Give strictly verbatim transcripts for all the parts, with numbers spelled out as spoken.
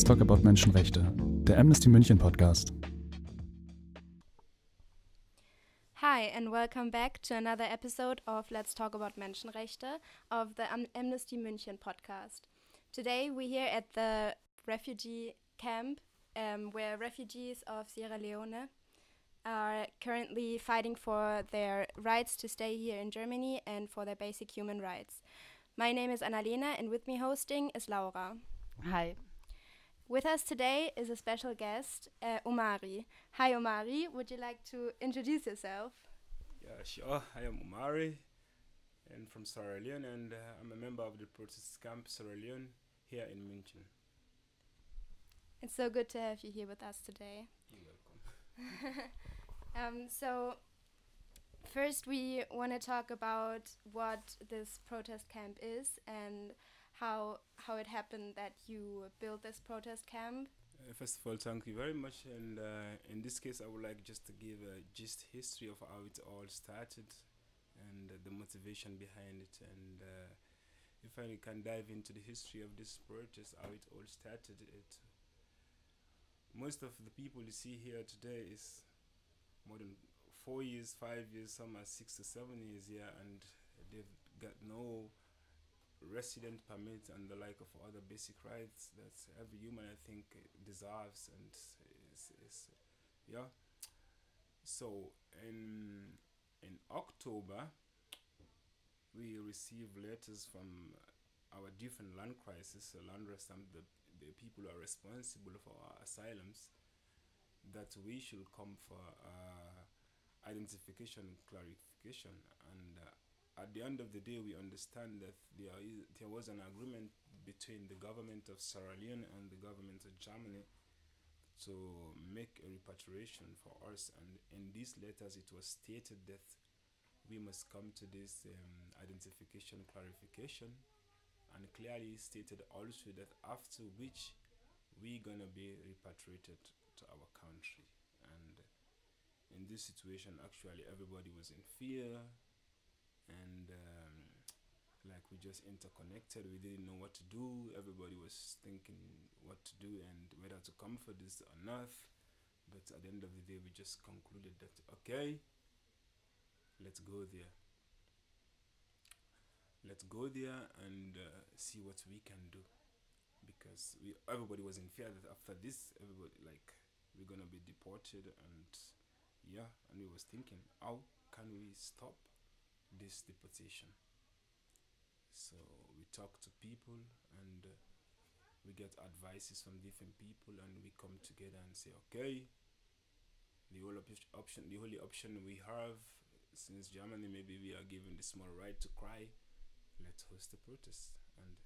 Talk About Menschenrechte, der Amnesty München Podcast. Hi and welcome back to another episode of Let's Talk About Menschenrechte of the Am- Amnesty München podcast. Today we're here at the refugee camp um, where refugees of Sierra Leone are currently fighting for their rights to stay here in Germany and for their basic human rights. My name is Annalena and with me hosting is Laura. Hi. With us today is a special guest, uh, Omari. Hi Omari, would you like to introduce yourself? Yeah, sure. I am Omari and from Sierra Leone, and uh, I'm a member of the protest camp Sierra Leone here in München. It's so good to have you here with us today. You're welcome. um, so, first we want to talk about what this protest camp is and how how it happened that you built this protest camp. Uh, first of all, thank you very much. And uh, in this case, I would like just to give a gist history of how it all started and uh, the motivation behind it. And uh, if I can dive into the history of this protest, how it all started, it most of the people you see here today is more than four years, five years, some are six to seven years here, and they've got no resident permit and the like of other basic rights that every human, I think, deserves. And is, is yeah. So in in October, we received letters from our different land crisis, uh, land rest, and the the people who are responsible for our asylums, that we should come for uh, identification and clarification. And uh, at the end of the day, we understand that there is, there was an agreement between the government of Sierra Leone and the government of Germany to make a repatriation for us. And in these letters, it was stated that we must come to this um, identification clarification, and clearly stated also that after which we're gonna be repatriated to our country. And in this situation, actually, everybody was in fear, and um, like we just interconnected. We didn't know what to do. Everybody was thinking what to do and whether to come for this or not. But at the end of the day, we just concluded that okay, let's go there. Let's go there and uh, see what we can do, because we everybody was in fear that after this, everybody like we're gonna be deported. And yeah, and we was thinking, how can we stop this deportation? So we talk to people, and uh, we get advices from different people, and we come together and say, okay, the whole op- option, the only option we have, since Germany maybe we are given the small right to cry, let's host a protest. And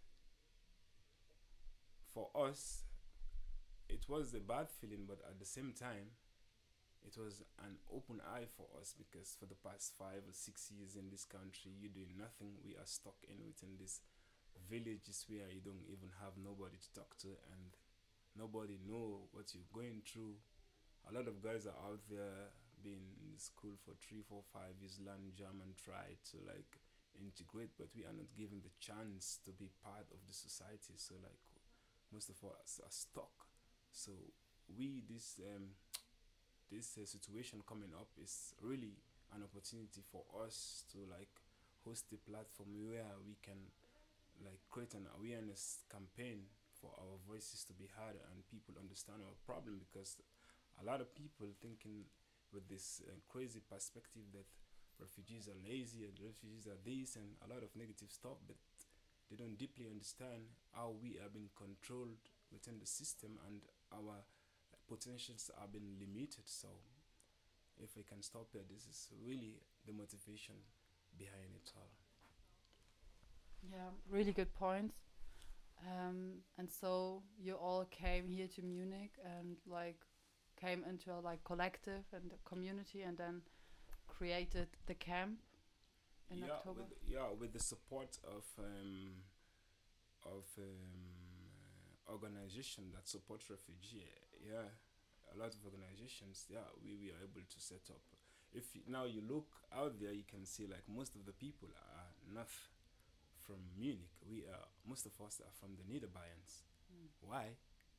for us, it was a bad feeling, but at the same time, it was an open eye for us, because for the past five or six years in this country, you doing nothing. We are stuck in within these villages where you don't even have nobody to talk to, and nobody know what you're going through. A lot of guys are out there being in school for three, four, five years, learn German, try to like integrate, but we are not given the chance to be part of the society. So like most of us are stuck. So we this um this uh, situation coming up is really an opportunity for us to like host a platform where we can like create an awareness campaign for our voices to be heard and people understand our problem. Because a lot of people thinking with this uh, crazy perspective that refugees are lazy and refugees are this and a lot of negative stuff, but they don't deeply understand how we are being controlled within the system and our potentials are being limited. So if we can stop it, this is really the motivation behind it all. Yeah, really good points. Um, and so you all came here to Munich and like came into a like collective and a community, and then created the camp in yeah, October. With, yeah, with the support of um, of um, organization that support refugee. Yeah, a lot of organizations. Yeah, we, we are able to set up. If you, now you look out there, you can see like most of the people are not from Munich. We are most of us are from the Niederbayerns. Mm. Why?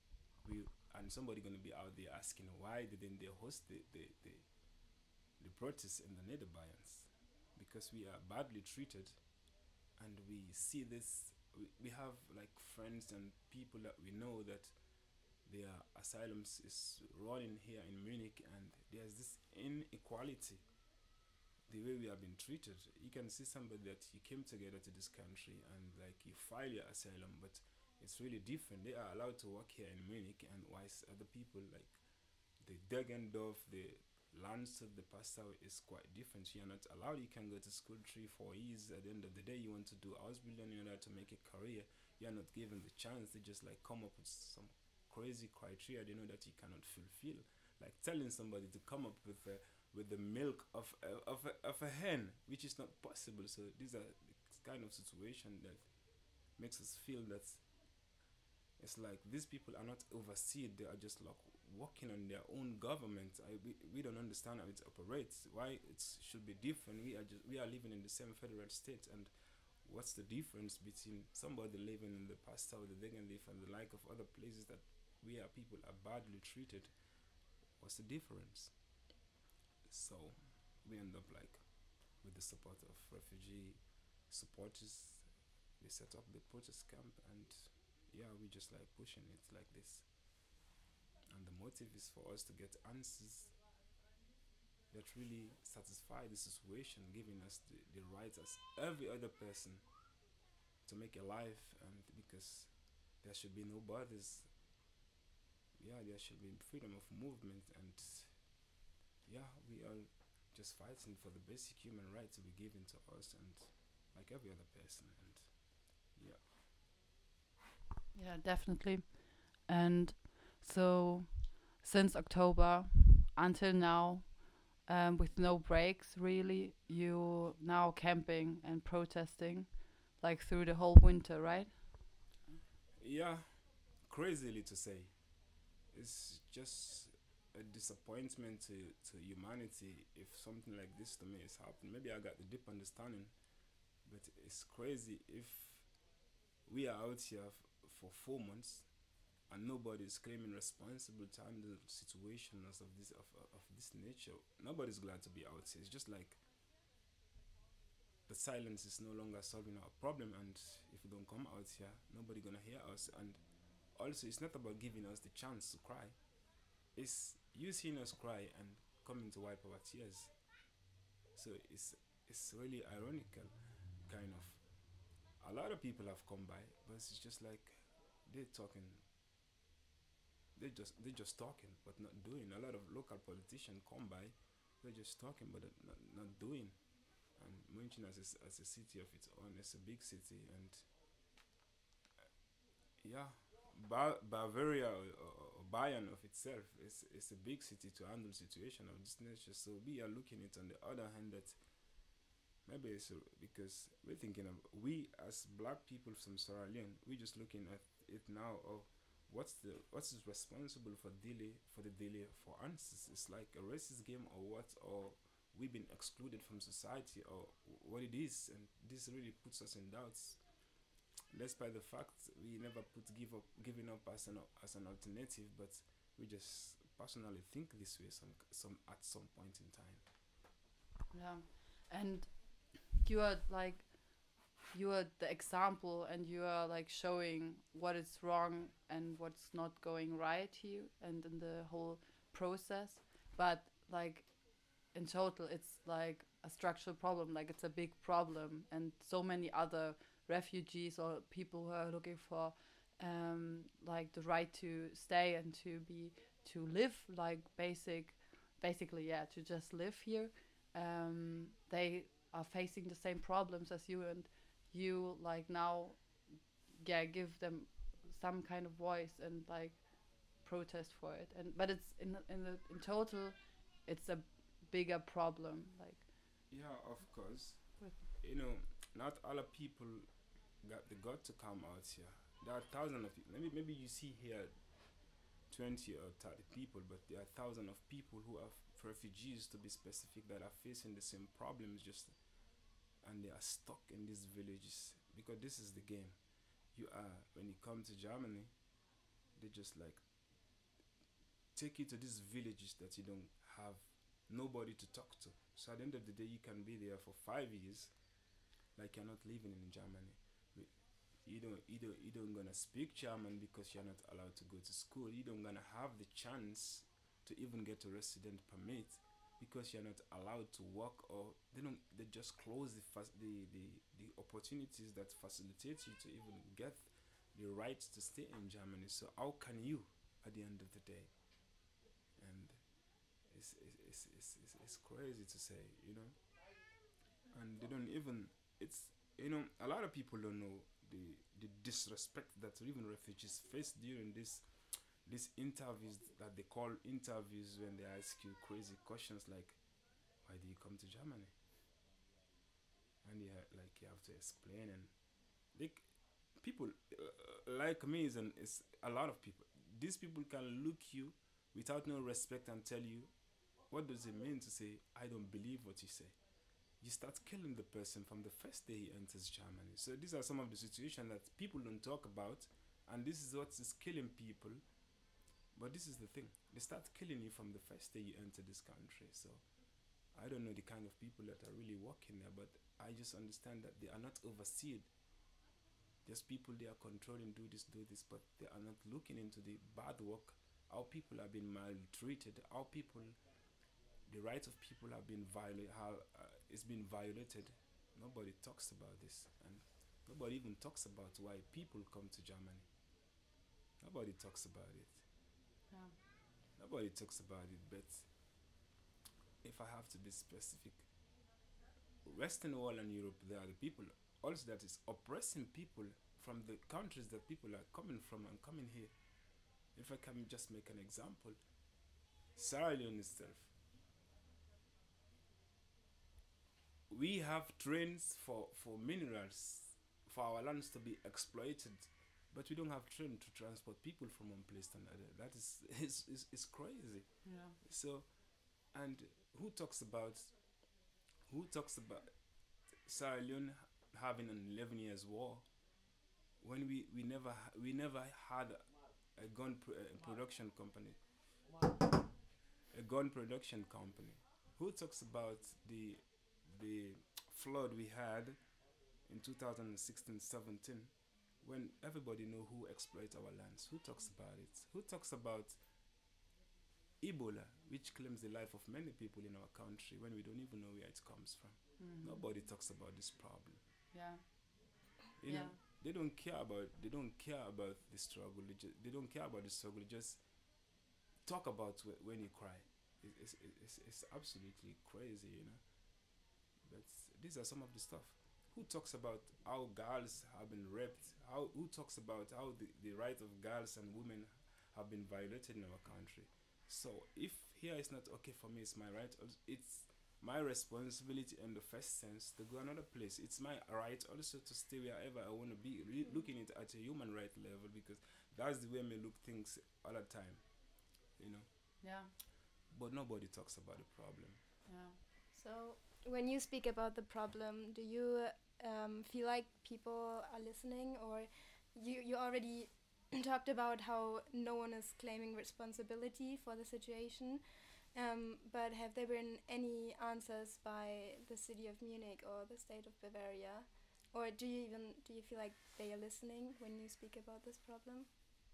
we and somebody gonna be out there asking why didn't they host the the, the, the protests in the Netherlands? Because we are badly treated, and we see this. We, we have like friends and people that we know that their asylums is running here in Munich, and there's this inequality. The way we have been treated, you can see somebody that you came together to this country and like you file your asylum, but it's really different. They are allowed to work here in Munich, and whilst other people like the Degendorf, the Landshut, the Passau is quite different. You're not allowed. You can go to school three, four years. At the end of the day, you want to do Ausbildung in order to make a career. You're not given the chance. They just like come up with some crazy criteria they know that you cannot fulfill. Like telling somebody to come up with a with the milk of a, of a, of a hen, which is not possible. So these are the kind of situation that makes us feel that it's like these people are not overseen. They are just like working on their own government. I, we, we don't understand how it operates. Why it should be different. We are just we are living in the same federal state, and what's the difference between somebody living in the Passau, the Degenleaf, and the like of other places that we are people are badly treated? What's the difference? So we end up like with the support of refugee supporters. We set up the protest camp, and yeah, we just like pushing it like this. And the motive is for us to get answers that really satisfy the situation, giving us the, the rights as every other person to make a life, and because there should be no borders. Yeah, there should be freedom of movement, and yeah, we are just fighting for the basic human rights to be given to us, and like every other person, and yeah. Yeah, definitely. And so since October until now, um, with no breaks really, you now camping and protesting like through the whole winter, right? Yeah, crazily to say. It's just a disappointment to, to humanity if something like this to me is happening. Maybe I got the deep understanding, but it's crazy if we are out here f- for four months and nobody is claiming responsible to handle situations of this of, of this nature. Nobody's glad to be out here. It's just like the silence is no longer solving our problem, and if we don't come out here, nobody gonna hear us. And also, it's not about giving us the chance to cry. It's you seeing us cry and coming to wipe our tears. So it's it's really ironical, kind of. A lot of people have come by, but it's just like they're talking. They just they just talking, but not doing. A lot of local politicians come by, they're just talking, but they're not not doing. And München as a, s- as a city of its own, it's a big city, and yeah, ba- Bavaria or, or, or Bayern of itself is is a big city to handle situation of this nature. So we are looking at on the other hand that maybe it's uh, because we're thinking of we as black people from Sierra Leone, we're just looking at it now of what's the what's is responsible for delay for the delay for answers. It's like a racist game or what, or we've been excluded from society, or what it is, and this really puts us in doubts. Despite the fact we never put give up giving up as an as an alternative, but we just personally think this way some some at some point in time. Yeah. And you are like you are the example, and you are like showing what is wrong and what's not going right here and in the whole process. But like in total it's like a structural problem, like it's a big problem, and so many other refugees or people who are looking for um like the right to stay and to be to live like basic basically yeah to just live here, um they are facing the same problems as you, and you like now yeah give them some kind of voice and like protest for it. And but it's in in the in total it's a bigger problem like Yeah, of course. with You know, not all of people got the gut to come out here. There are thousands of people. Maybe maybe you see here twenty or thirty people, but there are thousands of people who are f- refugees to be specific that are facing the same problems, just and they are stuck in these villages because this is the game. You are when you come to Germany, they just like take you to these villages that you don't have nobody to talk to. So at the end of the day, you can be there for five years, like you're not living in Germany. You don't, you don't, you don't gonna speak German because you're not allowed to go to school. You don't gonna have the chance to even get a resident permit because you're not allowed to work, or they don't. They just close the fas- the, the the opportunities that facilitate you to even get the right to stay in Germany. So how can you, at the end of the day? And it's it's it's it's, it's, it's crazy to say, you know. And they don't even. It's you know a lot of people don't know the the disrespect that even refugees face during this these interviews that they call interviews, when they ask you crazy questions like, why do you come to Germany? And you ha- like you have to explain, and like people uh, like me is, an, is a lot of people. These people can look you without no respect and tell you, what does it mean to say I don't believe what you say? You start killing the person from the first day he enters Germany. So these are some of the situations that people don't talk about, and this is what is killing people. But this is the thing, they start killing you from the first day you enter this country. So I don't know the kind of people that are really working there, but I just understand that they are not overseen. Just people they are controlling, do this, do this, but they are not looking into the bad work, how people are being maltreated, how people, the rights of people have been violated, how uh, it's been violated. Nobody talks about this, and nobody even talks about why people come to Germany. Nobody talks about it. Yeah. Nobody talks about it, but if I have to be specific, Western world and Europe, they are the people also that is oppressing people from the countries that people are coming from and coming here. If I can just make an example, Sierra Leone itself. We have trains for, for minerals, for our lands to be exploited, but we don't have train to transport people from one place to another. That is, is, is, is crazy. Yeah. So, and who talks about, who talks about Sierra Leone having an eleven years war when we, we never ha- we never had a, a gun pr- uh, production company, a gun production company. Who talks about the the flood we had in two thousand sixteen seventeen, when everybody know who exploit our lands? Who talks about it? Who talks about Ebola, which claims the life of many people in our country when we don't even know where it comes from? Mhm. Nobody talks about this problem. Yeah. You know, Yeah. they don't care about they don't care about the struggle. They, ju- they don't care about the struggle. They just talk about wh- when you cry. It, it's, it's it's absolutely crazy, you know. But these are some of the stuff. Who talks about how girls have been raped? How who talks about how the, the right of girls and women have been violated in our country? So if here is not okay for me, it's my right. als- It's my responsibility in the first sense to go another place. It's my right also to stay wherever I want to be, re- looking it at a human right level, because that's the way me look things all the time, you know. Yeah. But nobody talks about the problem. Yeah. So, when you speak about the problem, do you um, feel like people are listening, or you you already talked about how no one is claiming responsibility for the situation? Um, but have there been any answers by the city of Munich or the state of Bavaria, or do you even do you feel like they are listening when you speak about this problem?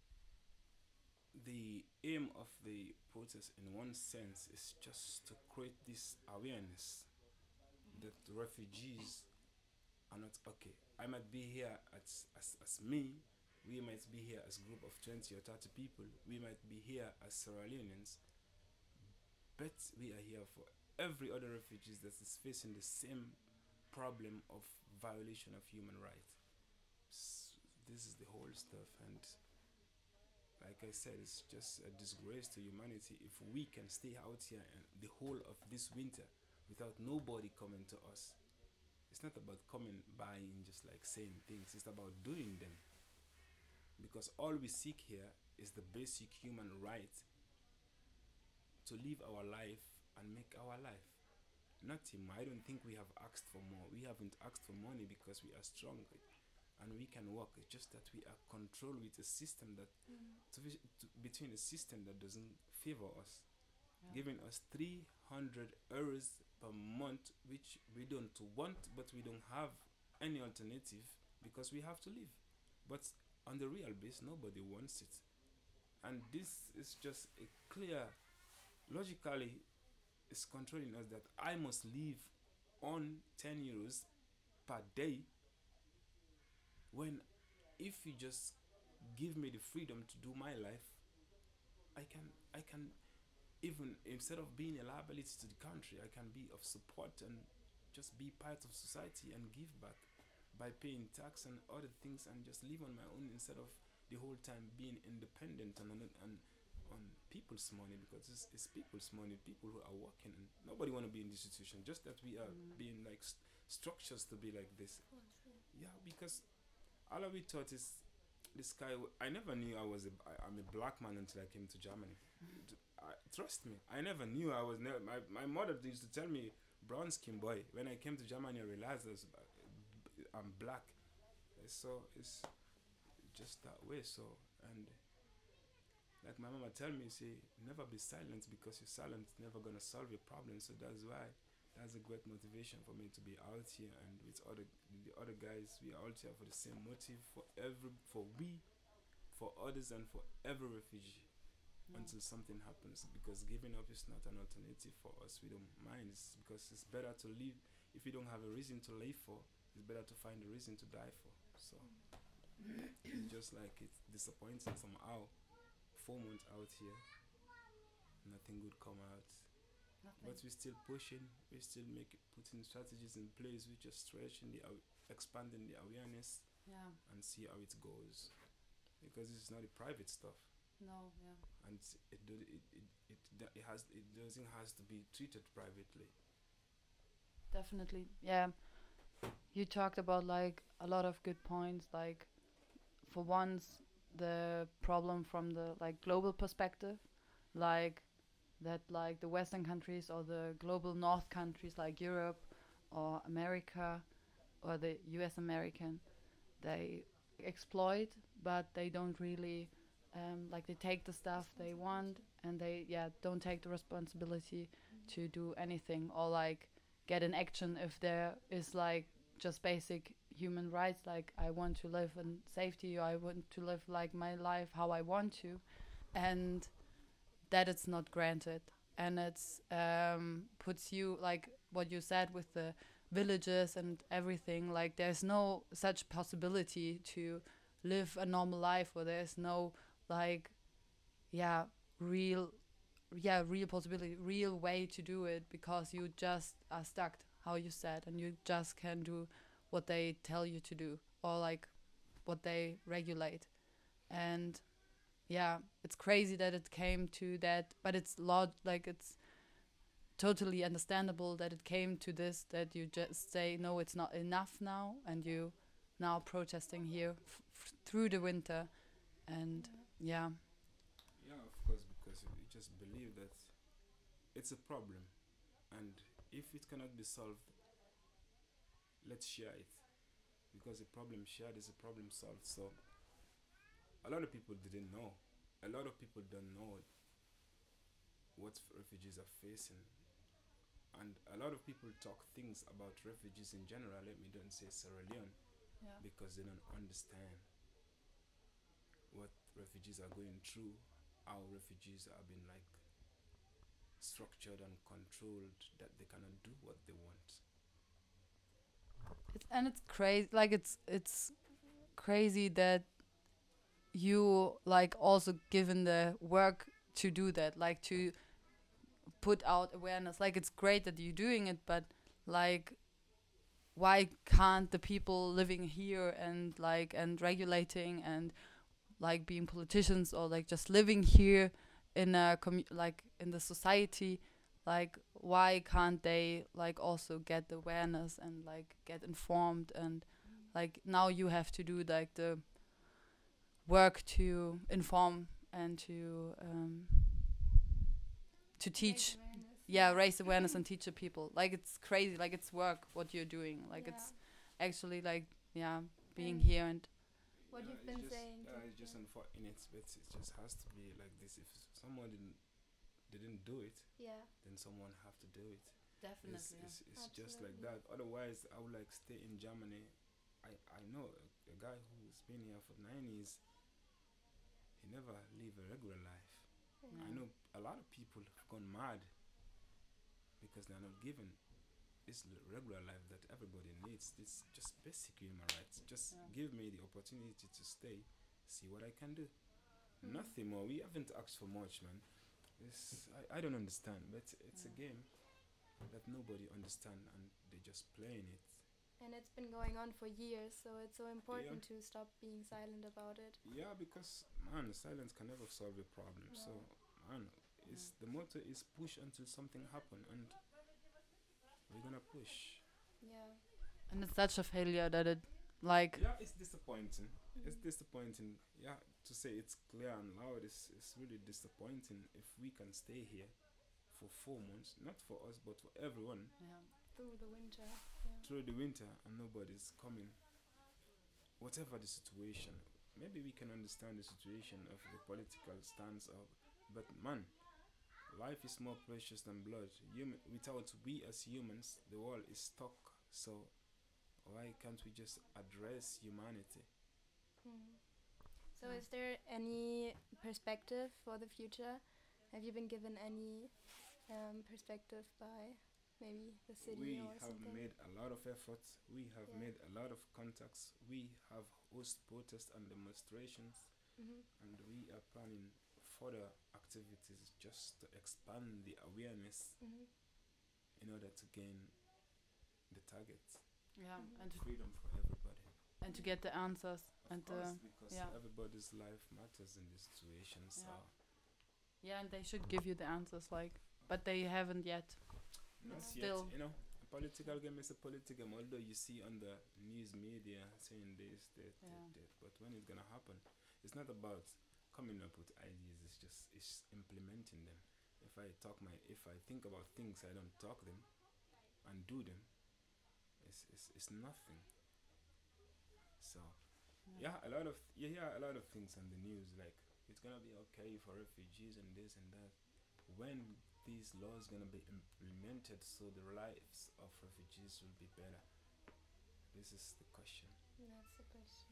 The aim of the protest, in one sense, is just to create this awareness that refugees are not okay. I might be here as, as, as me, we might be here as a group of twenty or thirty people, we might be here as Sierra Leoneans, but we are here for every other refugees that is facing the same problem of violation of human rights. S- This is the whole stuff, and like I said, it's just a disgrace to humanity if we can stay out here and the whole of this winter without nobody coming to us. It's not about coming by and just like saying things, it's about doing them. Because all we seek here is the basic human right to live our life and make our life. Nothing. I don't think we have asked for more. We haven't asked for money because we are strong. and we can walk. It's just that we are controlled with a system that Mm. to, vis- to between a system that doesn't favor us, Yeah. giving us three hundred euros per month, which we don't want, but we don't have any alternative because we have to live. But on the real base, nobody wants it, and this is just a clear, logically, it's controlling us that I must live on ten euros per day. When, if you just give me the freedom to do my life, I can, I can, even instead of being a liability to the country, I can be of support and just be part of society and give back by paying tax and other things and just live on my own instead of the whole time being independent and on, on, on people's money, because it's, it's people's money, people who are working, and nobody want to be in this situation. Just that we are Mm. being like st- structures to be like this. Yeah, because all of we thought is this guy. W- I never knew I was a. I, I'm a black man until I came to Germany. D- I, trust me, I never knew I was. Never, my my mother used to tell me brown skin boy. When I came to Germany, I realized I was, uh, I'm black. So it's just that way. So and like my mama tell me, say never be silent, because you're silent never gonna solve your problem. So that's why. That's a great motivation for me to be out here, and with other the other guys, we are out here for the same motive, for every for we, for others, and for every refugee Yeah. until something happens. Because giving up is not an alternative for us. We don't mind. It's because it's better to live. If you don't have a reason to live for, it's better to find a reason to die for. So it's just like it's disappointing somehow. Four months out here, nothing good come out. Nothing. But we're still pushing, we're still making putting strategies in place, we're just stretching the aw- expanding the awareness Yeah. and see how it goes. Because it's not a private stuff, No. Yeah. and it do, it, it, it, do- it has it doesn't has to be treated privately. Definitely. Yeah. You talked about like a lot of good points. Like, for once, the problem from the like global perspective, like that, like the Western countries or the global North countries like Europe or America or the U S American, they exploit, but they don't really, um, like they take the stuff they want and they yeah don't take the responsibility to do anything or like get in action if there is like just basic human rights, like I want to live in safety or I want to live like my life how I want to, and that it's not granted, and it's um, puts you like what you said with the villages and everything, like there's no such possibility to live a normal life, or there's no like yeah real yeah real possibility, real way to do it, because you just are stuck how you said, and you just can do what they tell you to do or like what they regulate. And yeah, it's crazy that it came to that, but it's log like it's totally understandable that it came to this, that you just say no, it's not enough now, and you now protesting here f- f- through the winter. And yeah. Yeah, of course, because we just believe that it's a problem, and if it cannot be solved, let's share it, because a problem shared is a problem solved. So a lot of people didn't know. A lot of people don't know what refugees are facing, and a lot of people talk things about refugees in general. Let me don't say Sierra Leone, Yeah. because they don't understand what refugees are going through, how refugees are being like structured and controlled, that they cannot do what they want. It's, and it's crazy, like it's it's crazy that you like also given the work to do that, like to put out awareness. Like it's great that you're doing it, but like why can't the people living here and like and regulating and like being politicians or like just living here in a commu- like in the society, like why can't they like also get the awareness and like get informed, and like now you have to do like the work to inform and to um to teach, yeah, raise awareness and teach the people. Like it's crazy, like it's work what you're doing, like Yeah. it's actually like yeah being Mm. here and What Yeah, you've it's been just, saying. Uh, too. it's just unfortunate, but it just has to be like this. If someone didn't didn't do it, Yeah. then someone have to do it. definitely. It's, it's, it's just like Absolutely. that. Otherwise, I would like stay in Germany. I, I know a, a guy who's been here for nine years. He never live a regular life. Yeah. I know a lot of people have gone mad because they're not given this l- regular life that everybody needs. It's just basic human rights. Just Yeah. give me the opportunity to stay, see what I can do. Mm. Nothing more. We haven't asked for much, man. It's, I, I don't understand, but it's a Yeah. game that nobody understand and they just playing it. And it's been going on for years, so it's so important to stop being silent about it. Yeah, because man, silence can never solve a problem. No. So man, it's the motto is push until something happen, and we're gonna push. Yeah. And it's such a failure that it like Yeah, it's disappointing. It's Mm. disappointing. Yeah, to say it's clear and loud is it's really disappointing. If we can stay here for four months, not for us but for everyone, yeah. Through the winter. Yeah. through the winter, and nobody's coming. Whatever the situation, maybe we can understand the situation of the political stance of, but man, life is more precious than blood. Human, without we as humans, the world is stuck. So why can't we just address humanity? Mm. So, Yeah. is there any perspective for the future? Have you been given any um, perspective by maybe the city We or have something? made a lot of efforts. We have Yeah. made a lot of contacts. We have host protests and demonstrations, Mm-hmm. and we are planning further activities just to expand the awareness Mm-hmm. in order to gain the target. Yeah. Mhm. And to, Freedom for everybody. and to get the answers Of and course, uh, because yeah. everybody's life matters in this situation. So Yeah. yeah, and they should give you the answers like but they haven't yet. not Yeah. yet, Still. you know, a political game is a political game. Although you see on the news media saying this, that, Yeah. that, that, but when it's gonna happen, it's not about coming up with ideas. It's just it's implementing them. If I talk my, if I think about things, I don't talk them and do them. It's it's, it's nothing. So yeah, a lot of you hear a lot of things on the news like it's gonna be okay for refugees and this and that. When these laws gonna be implemented so the lives of refugees will be better? This is the question. That's the question.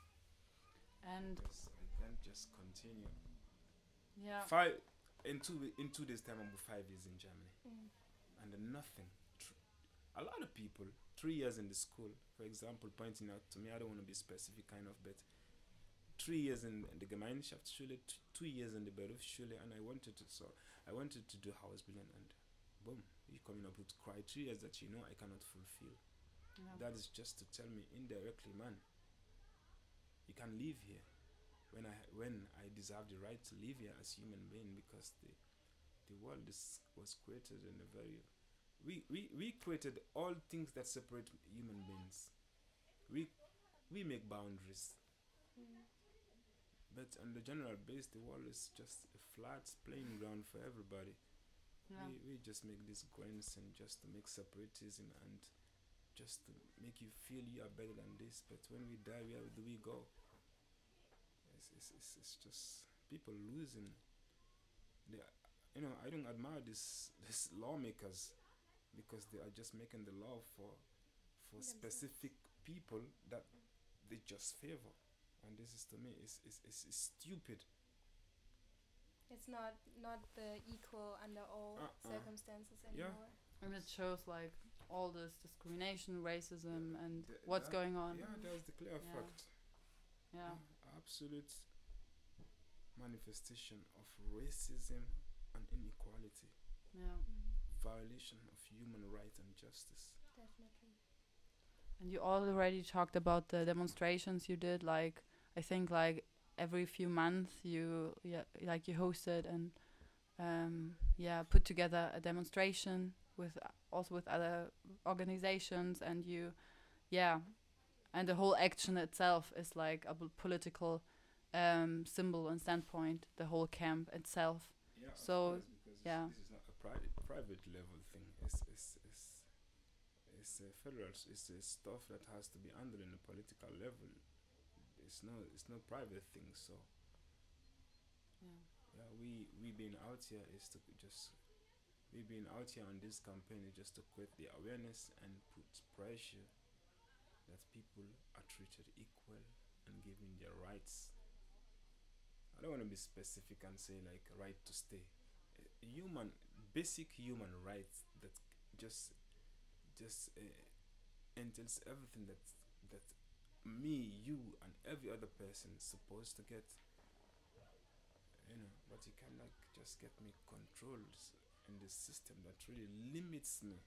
And Because I can't just continue. yeah. Five in two wi- in two days time I'm five years in Germany Mm. and then nothing. Tr- a lot of people three years in the school, for example, pointing out to me. I don't want to be specific, kind of, but three years in the Gemeinschaftsschule, t- two years in the Berufsschule, and I wanted to so I wanted to do Hausbildung, and boom, you coming up with criteria that you know I cannot fulfill. Yeah. That is just to tell me indirectly, man, you can live here when I when I deserve the right to live here as human being, because the the world is was created in a very we, we, we created all things that separate human beings. We we make boundaries, Mm. but on the general base, the world is just a flat playing ground for everybody. Yeah. We, we just make these grants and just to make separatism and just to make you feel you are better than this. But when we die, where do we go? It's, it's, it's, it's just people losing. They, are- you know, I don't admire this this lawmakers because they are just making the law for for Themselves. specific people that they just favor, and this is to me is is is is stupid. It's not not the equal under all Uh-uh. circumstances Yeah. anymore. And it shows like all this discrimination, racism, Yeah, and th- what's that- going on. Yeah, there's the clear Yeah. fact. Yeah. Uh, absolute manifestation of racism and inequality, Yeah. Mm. violation of human rights and justice. Definitely. And you already talked about the demonstrations you did. Like I think like every few months you yeah like you hosted and um, yeah put together a demonstration with uh, also with other organizations, and you yeah and the whole action itself is like a b- political um, symbol and standpoint. The whole camp itself. Yeah, So, of course, because yeah. this is not a private private level thing. It's, it's, it's it's a federal. s- It's a stuff that has to be handled in a political level. It's no, it's no private thing. So Yeah. yeah, we we being out here is to just we being out here on this campaign is just to create the awareness and put pressure that people are treated equal and given their rights. I don't want to be specific and say like right to stay. Uh, Human, basic human rights that just just uh, entails everything that that me, you, and every other person is supposed to get. You know, but you cannot just get me controlled in this system that really limits me.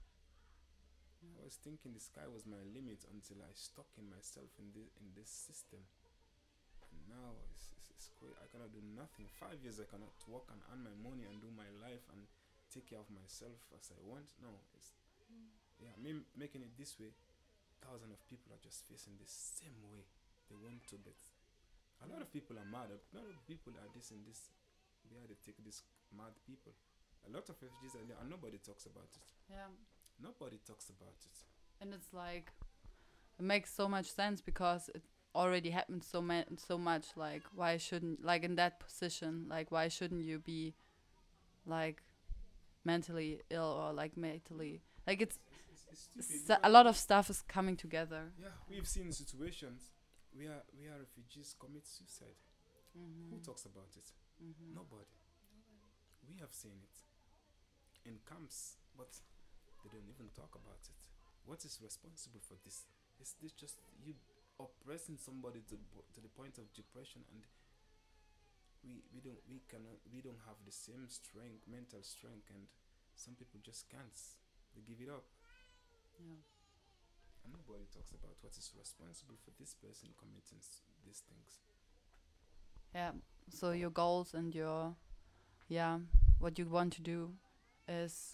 I Yeah. was thinking the sky was my limit until I stuck in myself in this in this system. And now it's, it's, it's quite, I cannot do nothing. Five years I cannot work and earn my money and do my life and take care of myself as I want. No, it's Mm. yeah, me making it this way. Thousands of people are just facing the same way. They want to, but a lot of people are mad. A lot of people are this and this. They are they take these mad people. A lot of refugees are there and nobody talks about it. Yeah. Nobody talks about it. And it's like it makes so much sense because it already happened so ma- so much. Like why shouldn't like in that position? Like why shouldn't you be like mentally ill or like mentally like it's It's, it's, it's stupid. s- a lot of stuff is coming together. Yeah, we've seen situations where where refugees commit suicide. Mm-hmm. Who talks about it? Mm-hmm. Nobody. We have seen it in camps, but they don't even talk about it. What is responsible for this? Is this just you oppressing somebody to bo- to the point of depression, and we we don't we cannot we don't have the same strength, mental strength, and some people just can't. They give it up, Yeah. and nobody talks about what is responsible for this person committing s- these things. Yeah. So your goals and your yeah what you want to do is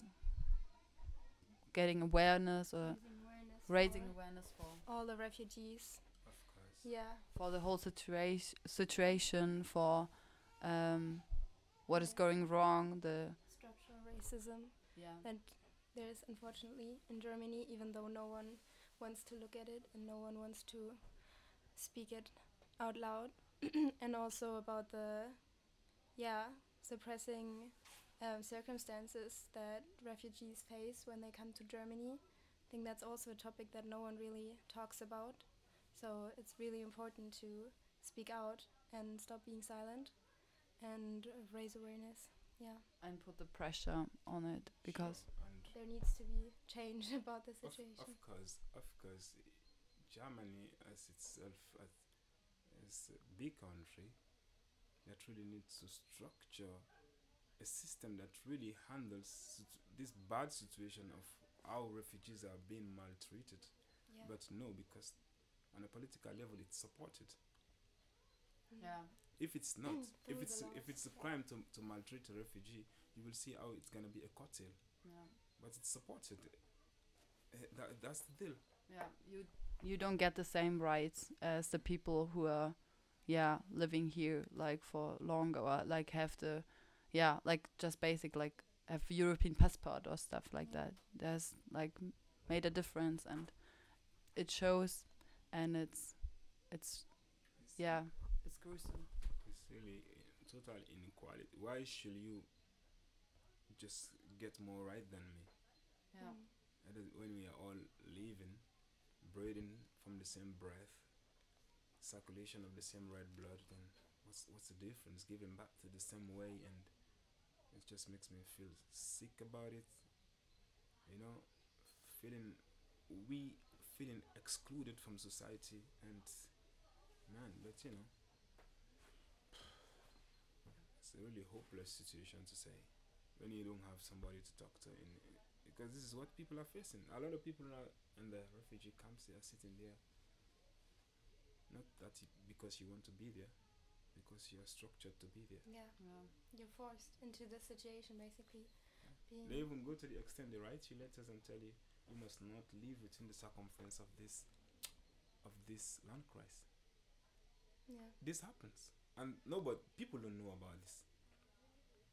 getting awareness or Raising awareness raising for awareness for all the refugees. Of course. Yeah. for the whole situation situation for um what is Yeah. going wrong the Structural racism yeah that there is unfortunately in Germany, even though no one wants to look at it and no one wants to speak it out loud. And also about the, yeah, suppressing um, circumstances that refugees face when they come to Germany. I think that's also a topic that no one really talks about. So it's really important to speak out and stop being silent and uh, raise awareness. Yeah, and put the pressure on it because Sure, and there needs to be change about the of, situation. of course, of course, Germany as itself as, as a big country that really needs to structure a system that really handles situ- this bad situation of how refugees are being maltreated. Yeah. But no, because on a political level it's supported. Mm. yeah If it's not, if Through it's the if laws, it's a yeah. crime to, to maltreat a refugee, you will see how it's gonna be a cocktail. yeah But it's supported. Uh, that, that's the deal. yeah you you don't get the same rights as the people who are yeah living here like for longer or like have the yeah like just basic like have European passport or stuff like Yeah. that. There's like m- made a difference and it shows and it's it's It's, yeah it's gruesome. it's really uh, total inequality. Why should you just get more right than me? Yeah Mm. And then when we are all living, breathing from the same breath, circulation of the same red blood, then what's what's the difference? Giving back to the same way, and it just makes me feel sick about it. You know, feeling we feeling excluded from society, and man, but you know, it's a really hopeless situation to say when you don't have somebody to talk to in because this is what people are facing. A lot of people are in the refugee camps. They are sitting there, not that y- because you want to be there, because you are structured to be there. Yeah, yeah you're forced into the situation basically. Being They even go to the extent they write you letters and tell you you must not live within the circumference of this of this landkreis. yeah, This happens, and no, but people don't know about this.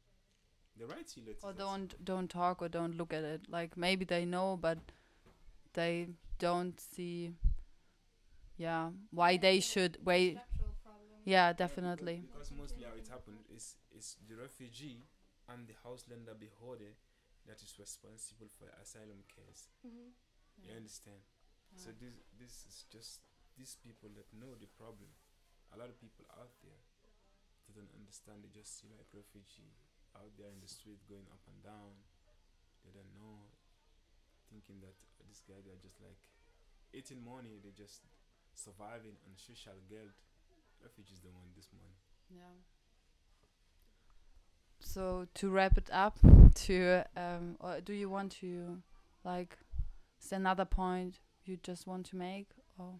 They write you letters. or and don't don't talk or don't look at it like maybe they know but they don't see, yeah, why they should wait. Yeah, definitely. Because mostly how it happened is is the refugee and the houselender beholder that is responsible for asylum case. Mm-hmm. You understand? Yeah. So this this is just these people that know the problem. A lot of people out there they don't understand. They just see like refugee out there in the street going up and down. They don't know, thinking that uh, these guys are just like eating money. They're just surviving on social guilt. Refugees don't want this money. Yeah. So to wrap it up, to um, or do you want to, like, is there another point you just want to make, or?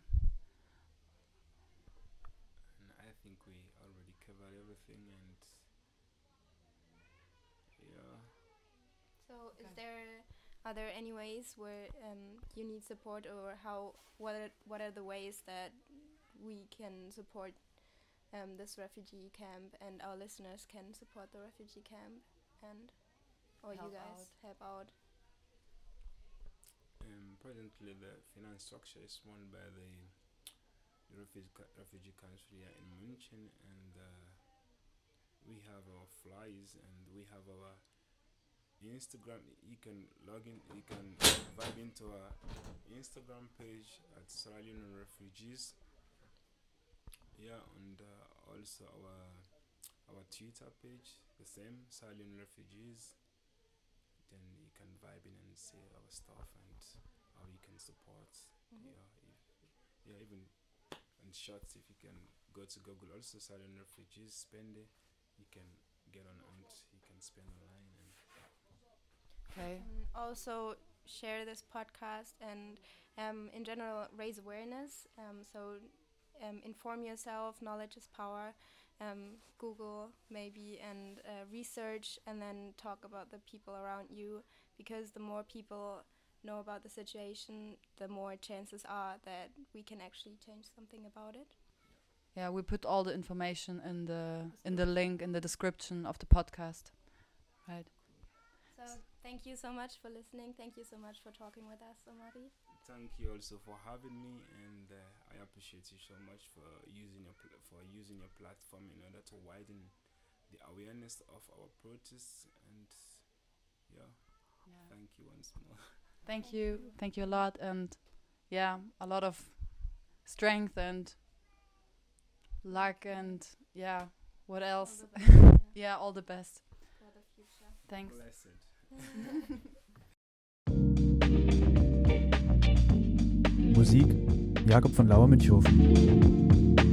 And I think we already covered everything, and yeah. So, is there are there any ways where um, you need support, or how what are, what are the ways that we can support um, this refugee camp, and our listeners can support the refugee camp, and or Help you guys out. help out? Um, presently, the finance structure is run by the, the refugee ca- refugee council here in München, and uh, we have our flyers and we have our Instagram. You can log in. You can vibe into our Instagram page at Sierra Leone Refugees. Yeah, and uh, also our our Twitter page, the same Sierra Leone Refugees. Then you can vibe in and see our stuff and how you can support. Mhm. Yeah, if, yeah, even in shorts, if you can go to Google, also Sierra Leone Refugees, spend it. You can get on and you can spend online and Okay. And also share this podcast and um, in general raise awareness. Um, so um, inform yourself. Knowledge is power. Um, Google maybe and uh, research, and then talk about the people around you, because the more people know about the situation, the more chances are that we can actually change something about it. Yeah, we put all the information in the in the link in the description of the podcast. Right. So thank you so much for listening. Thank you so much for talking with us, Omari. thank you also for having me, and uh, I appreciate you so much for using your pl- for using your platform in order to widen the awareness of our protests. And yeah, Yeah. thank you once more. Thank you. Thank you a lot, and yeah, a lot of strength and luck, and yeah, what else? All the best, yeah, Yeah, all the best. for the future. Thanks. Blessed. Musik Jakob von Lauer Münchhofen.